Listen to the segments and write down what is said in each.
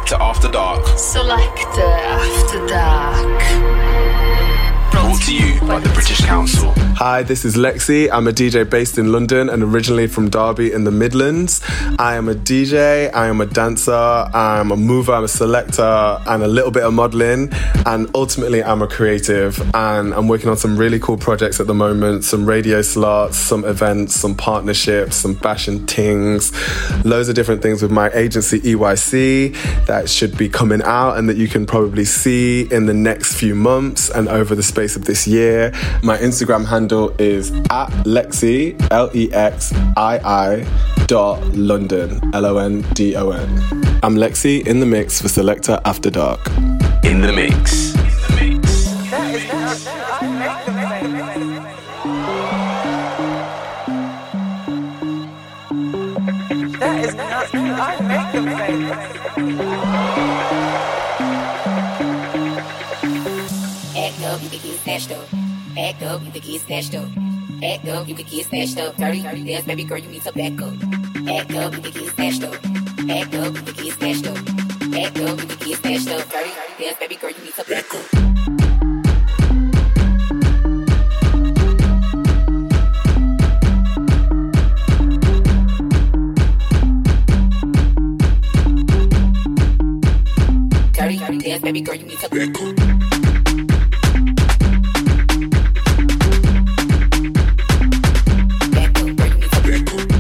Selector After Dark. Selector After Dark. Brought to you by the British Council. Hi, this is Lexi. I'm a DJ based in London and originally from Derby in the Midlands. I am a DJ, I am a dancer, I'm a mover, I'm a selector, and a little bit of modelling. And ultimately, I'm a creative. And I'm working on some really cool projects at the moment, some radio slots, some events, some partnerships, some fashion tings, loads of different things with my agency EYC that should be coming out and that you can probably see in the next few months and over the space of this year. My Instagram handle is @Lexi, LEXII.London, LONDON. I'm Lexi in the mix for Selector After Dark. In the mix. That is not I make them famous. Act up, you can get snatched up. Act up, you can get snatched up. Act up, you can get snatched up. Dirty, dance, baby girl, you need to back up. Act up, you can get snatched up. Act up, you can get snatched up. Act up, you can get snatched up. Dirty, dance, baby girl, you need to back up. Dance, baby girl, you need to back up. Back up, girl, you need to back up.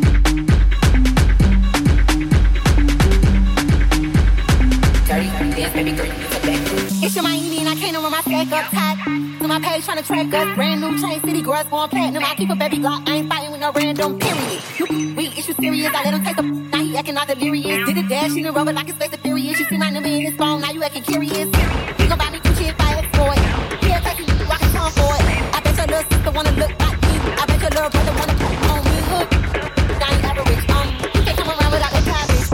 Dirty, dance, baby girl, you need to back up. It's your Miami and I can't run my stack up top. To my page trying to track us. Brand new chain city girls going platinum. I keep a baby Glock, I ain't fighting with no random period. You weak, it's you serious. I let him take the now he acting all delirious. Did a dash in the rubber like it's space of furious. You see my number in his phone, now you acting curious. You gon' buy me Gucci if I exploit. He'll take you, I can come for it. I bet your little sister wanna look like me. I bet your little brother wanna put on me. Look, I ain't average. You can't come around without that cabbage.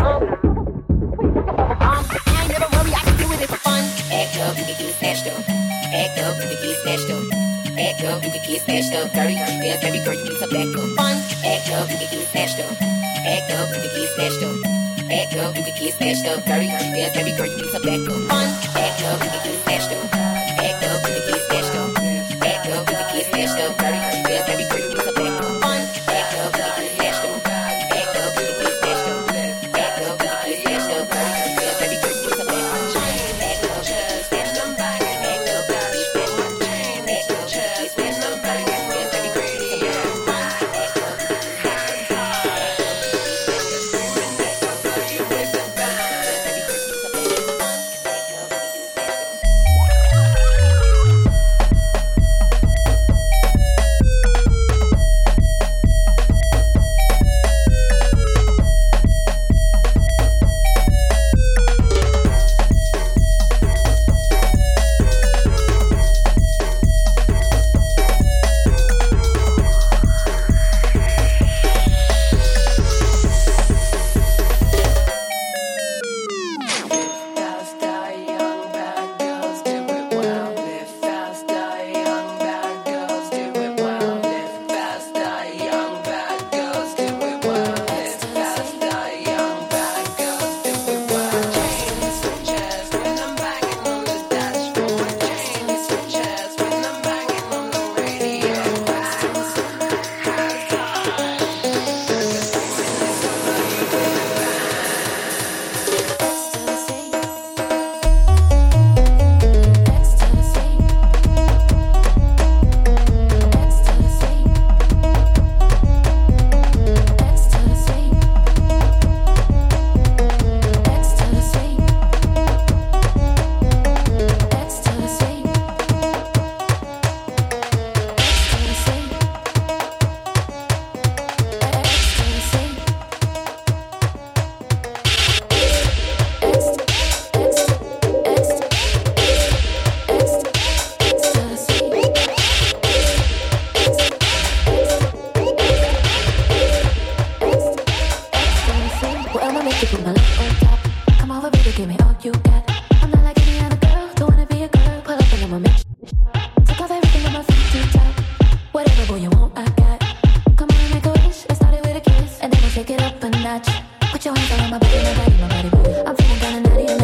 I ain't never worry, I can do it for fun. Act up, you can get snatched up. Act up, you can get snatched up. Act up, you can get snatched up. Dirty, dance, baby girl, you need to back up. Fun. Act up, you can get snatched up. Act up, you can get snatched up. Act up, you can get snatched up. Dirty, dance, baby girl, you need to back up. Fun. Act up, you can get snatched up. Act up, you can get snatched up. Act up, you can get snatched up. Dirty, dance, baby girl, you need to back up. Fun. Act up, you can get snatched up. Act up, you can get snatched up. Act up, you can get snatched up. Dirty, dance, baby girl, you need to back up. Act up, you can get snatched up. Act up, you can get snatched up. Act up, you can get snatched up. Dirty, dance, baby girl, you need to back up. Put your hands on my body, my body, my body, body. I'm feeling kinda naughty.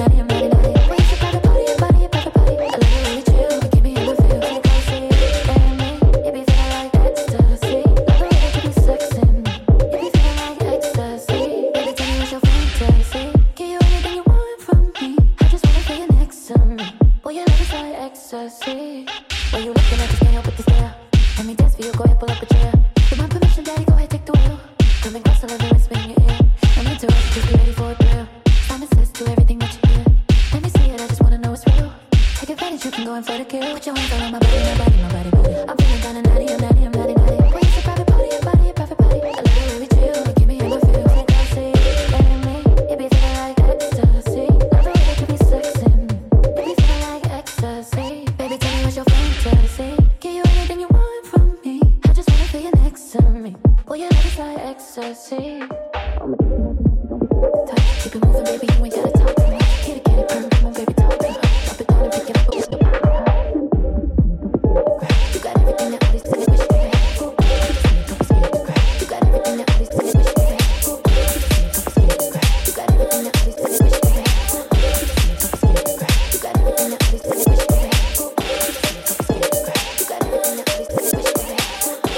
going for the kill. Put your hands all on my body, my body, my body, body. I'm feeling kinda naughty, I'm naughty, I'm naughty, naughty. We used to private party, a party, a private party. I love the way we chill, you give me in my feels like I see. And me, it be feeling like ecstasy. Love the way that you be sexing. It be feeling like ecstasy. Baby, tell me what's your fantasy. Give you anything you want from me. I just wanna feel you next to me. Boy, your love is like ecstasy. Keep it moving, baby, you ain't gotta talk to me. Get it, purr, come on, baby, talk to me. Drop it down and pick it up, you got everything that all these silly wish they had. You got everything that all these silly wish they had. You got everything that all these silly wish they had. You got everything that all these silly wish they had. You got everything that all these silly wish they had.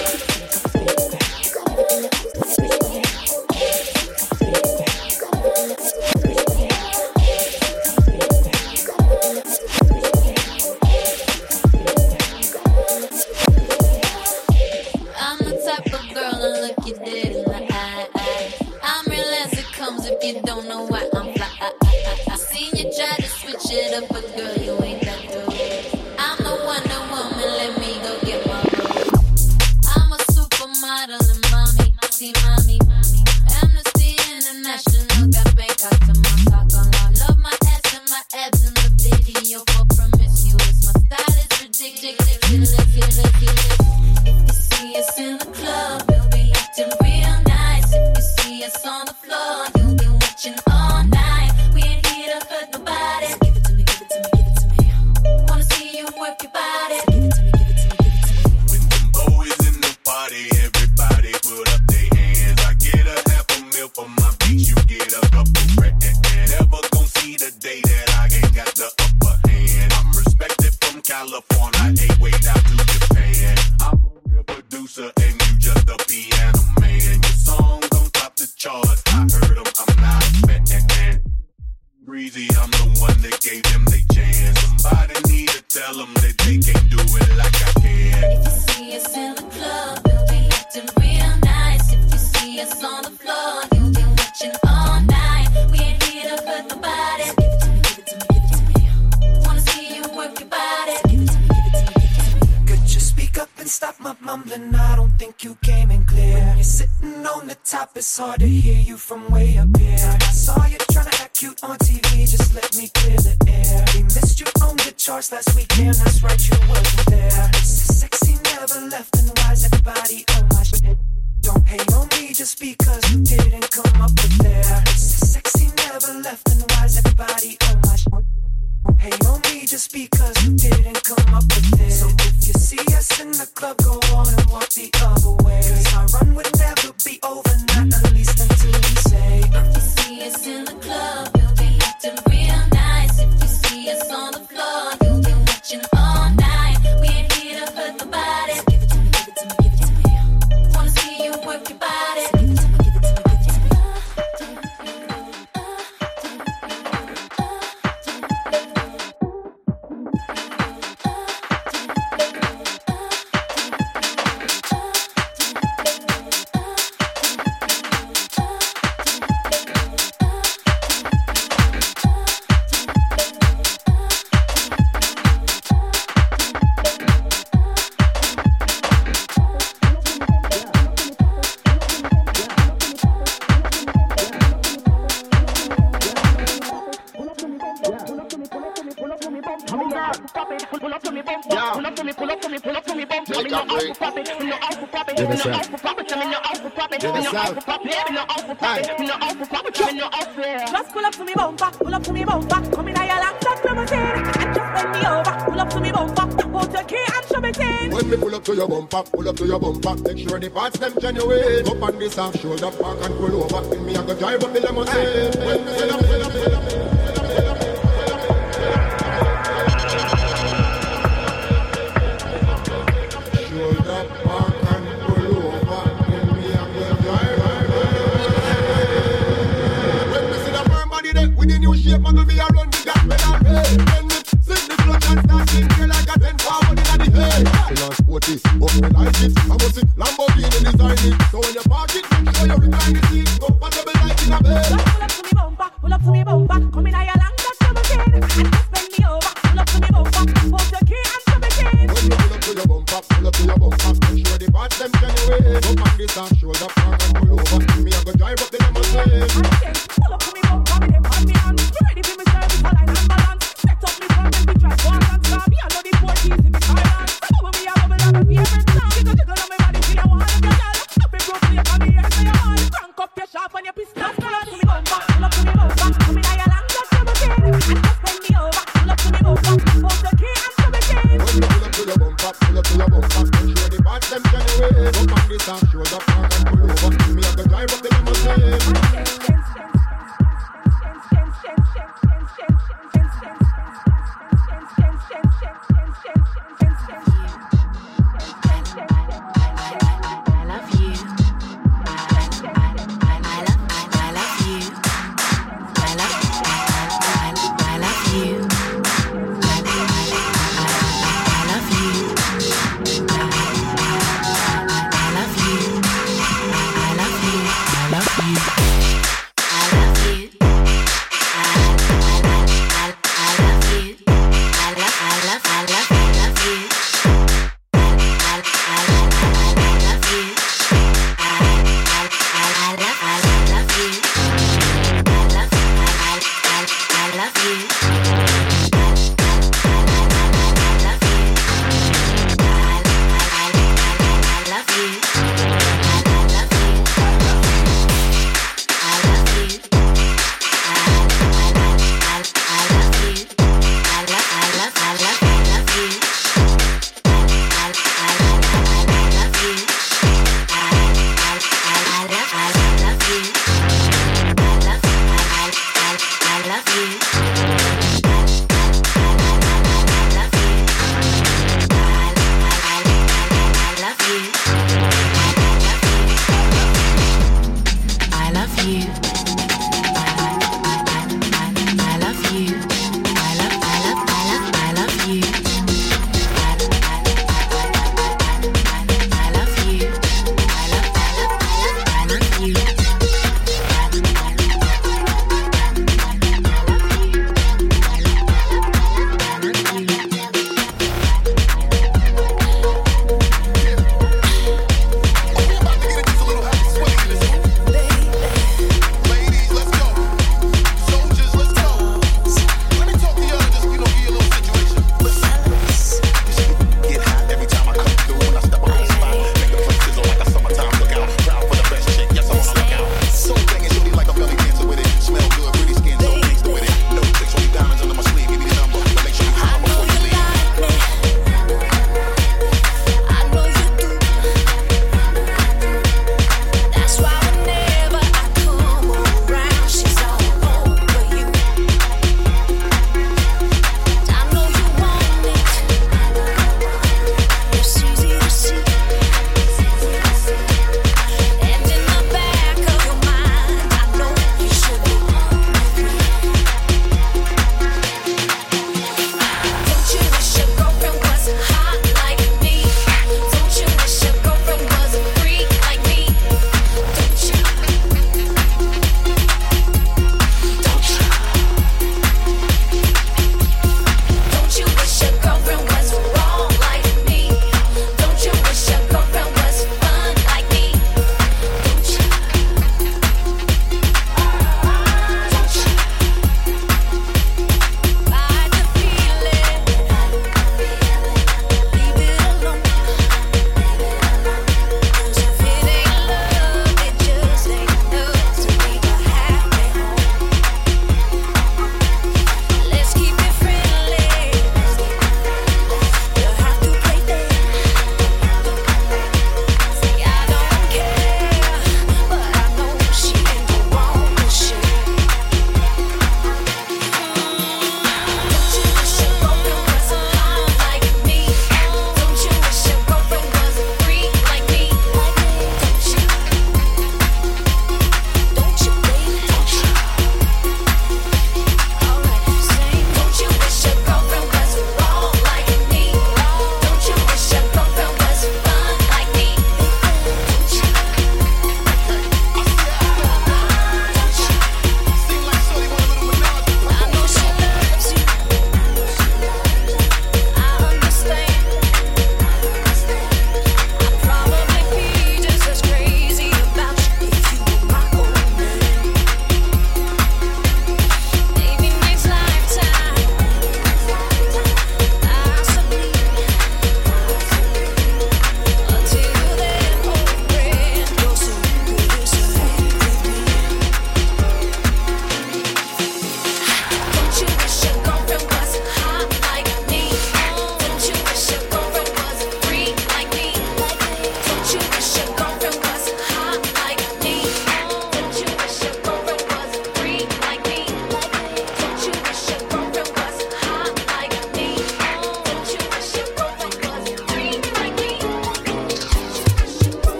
It's hard to hear you from way up here. I saw you trying to act cute on TV, just let me clear the air. We missed you on the charts last weekend, that's right, you wasn't there. It's the sexy never left, and why's everybody on my shit? Don't hate on me just because you didn't come up with there. It's the sexy never left, and why's everybody on my shit? Don't hate on me just because you didn't come up with it. So if you see us in the club, go on and walk the other way. Cause our run would never be over, not at least until we say. If you see us in the club, we'll be acting real nice. If you see us on the floor, you'll be watching all night. We ain't here to hurt nobody. So give it to me, give it to me, give it to me. Wanna see you work your body. So give it to me, give it to me, give it to me. Just pull up to me bumper, pull up to me bumper. Come in a your laptop, come and just bend me over. Pull up to me bumper, hold your key and shove it in. When me pull up to your bumper, make sure the parts them genuine. Up on this half shoulder, park and pull over. In me I go drive up the limousine. When me pull up. Muggle be around the gap pedal way. When me sing the clutch and start singing like a 10 forward in the hay. Finance Otis, up me like it. I must see Lamborghini design it. So when you park it, make sure you recline the seat. Comfortable like in a bed. Just pull up to me bumper, pull up to me bumper. Come in a your long touch, come and just bend me over. Pull up to me bumper, hold your key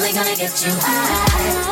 only gonna get you high.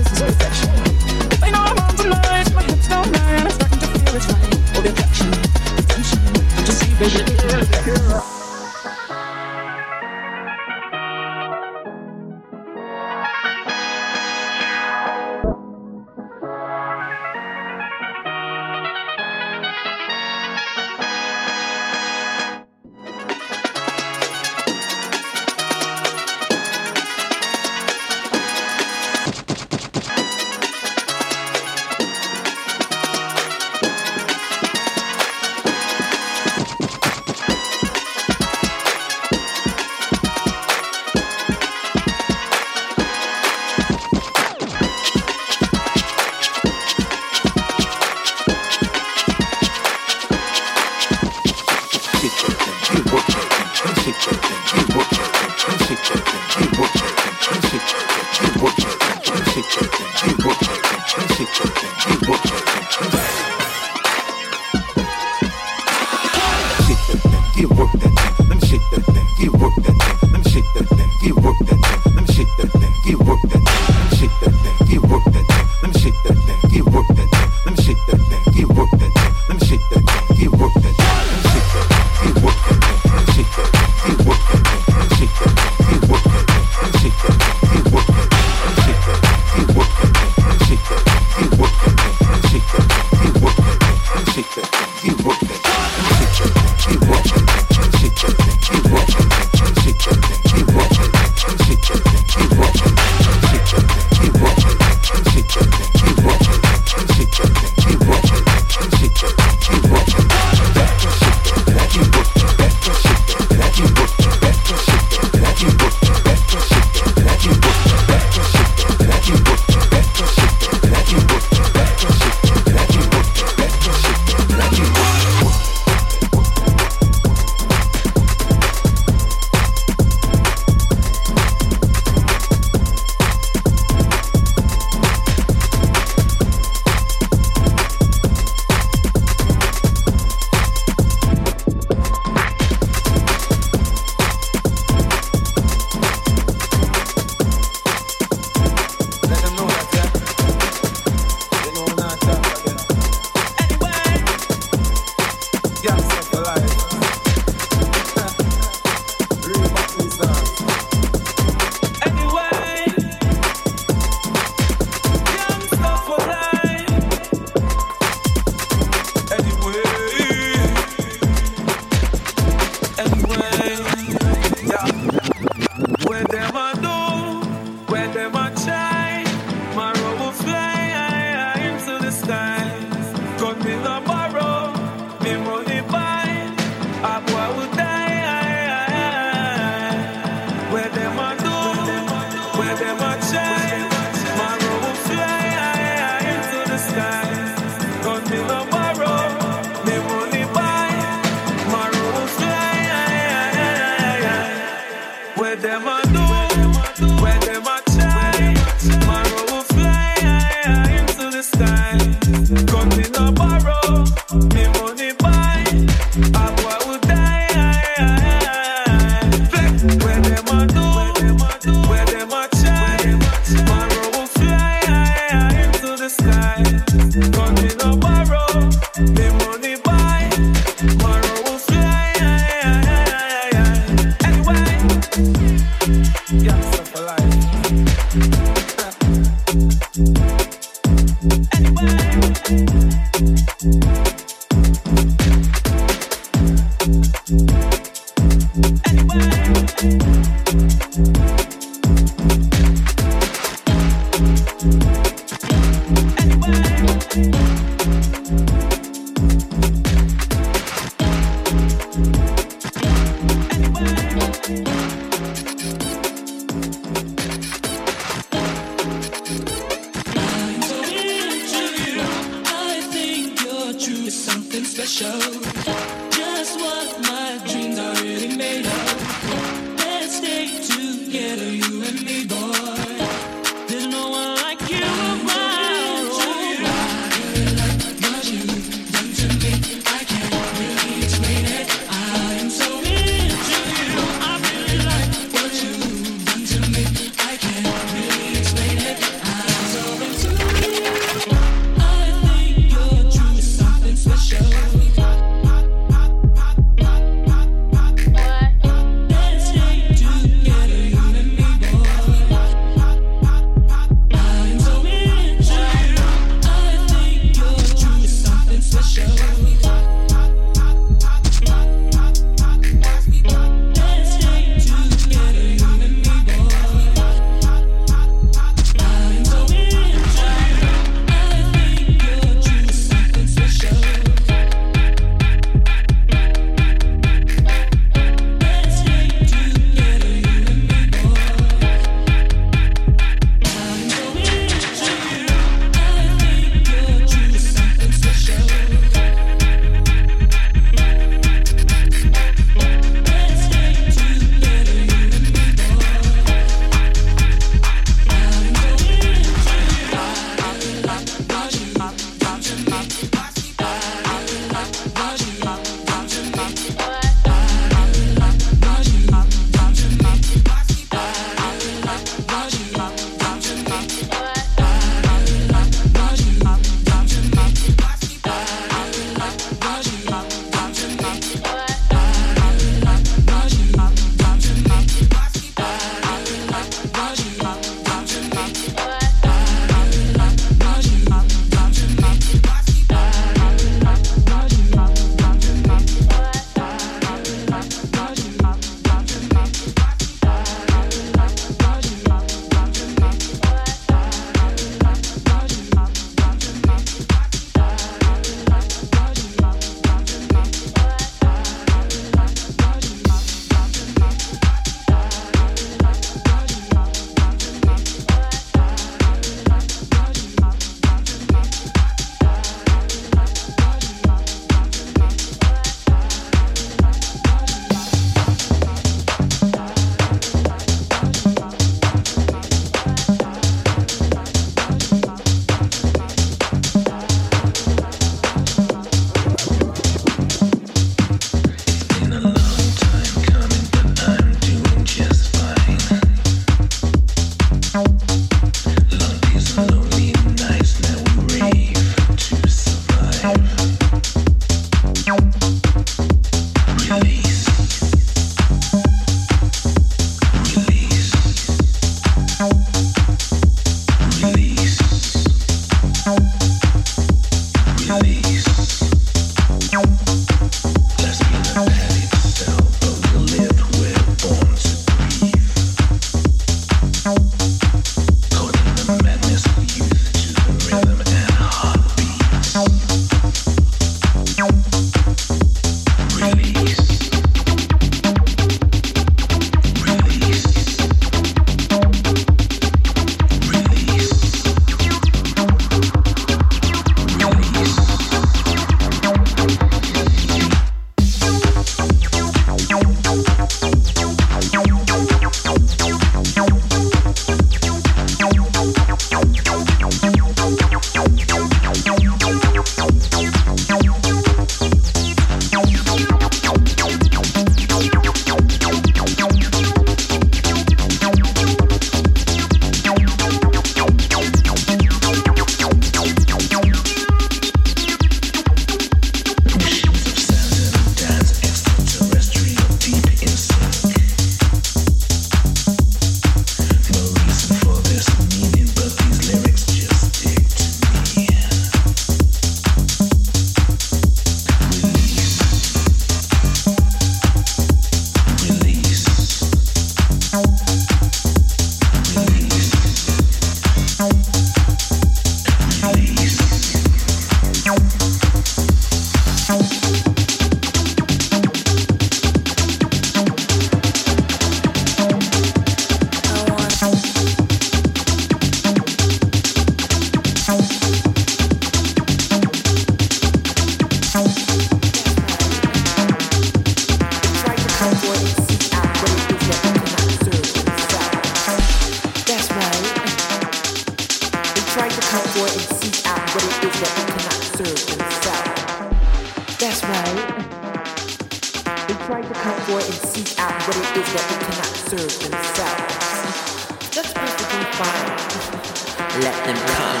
They try to come for and seek out what it is that they cannot serve themselves. That's perfectly fine. Let them come.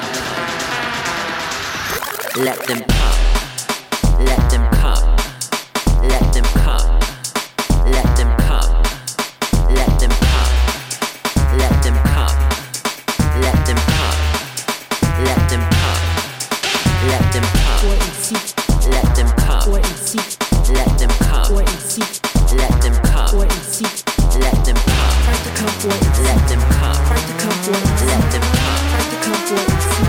Let them come. Let them come. Let them come. Let them come. Let them come. Let them come. Let them come. Let them come. Let them come. For and seek. Let them come. For and seek. Let them come. For and seek. Let them come. For and seek. Let them come. Try to come for and seek. Let them come. Try to come for and seek. Let them come. Try to come for and seek.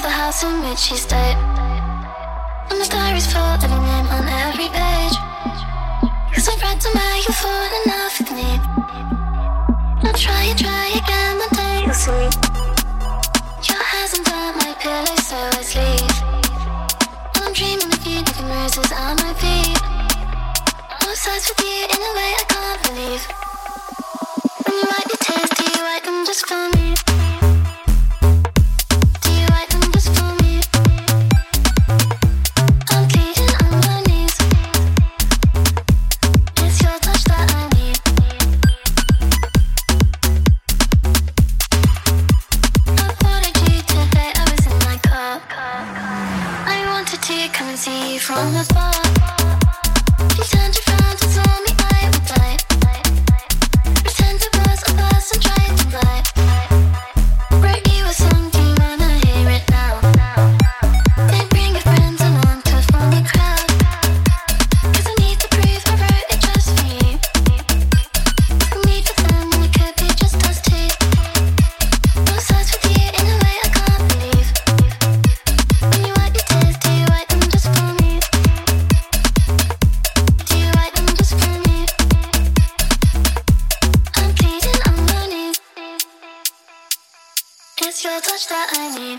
the house in which she stayed. And the diary's full of your name on every page. Cause I'm right to where you're falling off with me. I'll try again one day you'll see. Your hands under my pillow so I sleep. And I'm dreaming of you looking roses on my feet. I'm obsessed with you in a way I can't believe. When you wipe your tears, do you wipe them just for me? Do you wipe them just for me? I'm bleeding on my knees. It's your touch that I need. I wanted you today, I was in my car. I wanted to come and see you from afar. You turned around and saw me, I would die. Pretend it was a bus and tried to fly. Wrote you a song, do you wanna hear it now? Then bring your friends along to form the crowd. Cause I need the proof, I wrote it just for you. I need for them and it could be just us two. I'm obsessed with you in a way I can't believe. When you wipe your tears, do you wipe them just for me? Do you wipe them just for me? I'm bleeding on my knees. It's your touch that I need.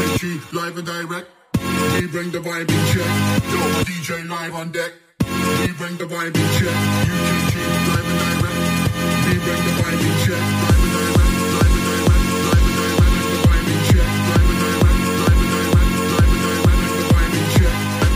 UKG, live and direct. We bring the vibe in check. Yo, my DJ live on deck. We bring the vibe in check. UKG, live and direct. We bring the vibe in check. Live and direct, live and direct, live and direct. Bring the vibe in check. Live and direct, live and direct, live and direct. Bring the vibe in check.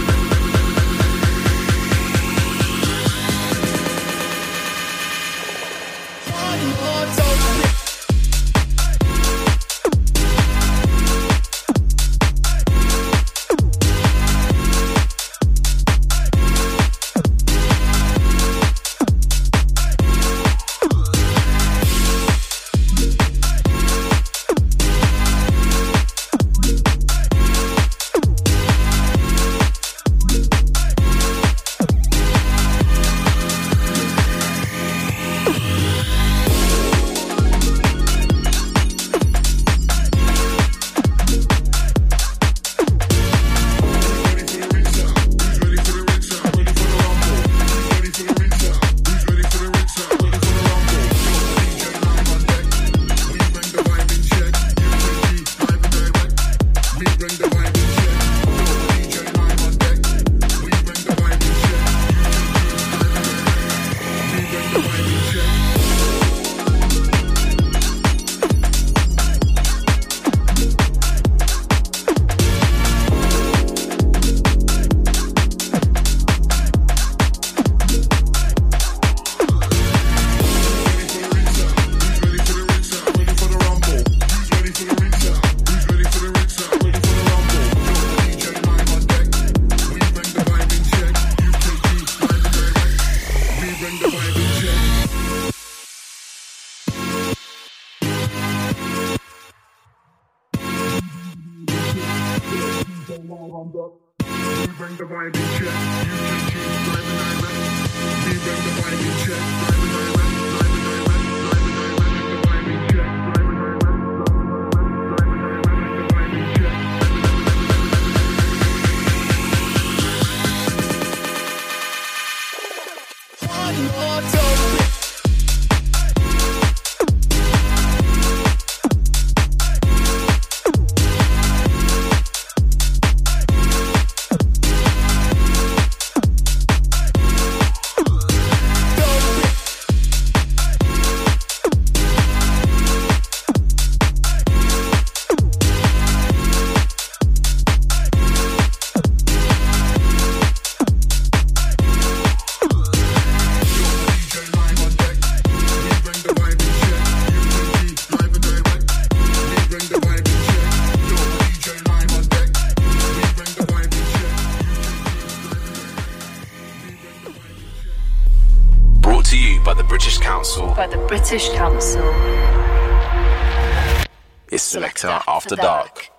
By the British Council. It's Selector After Dark.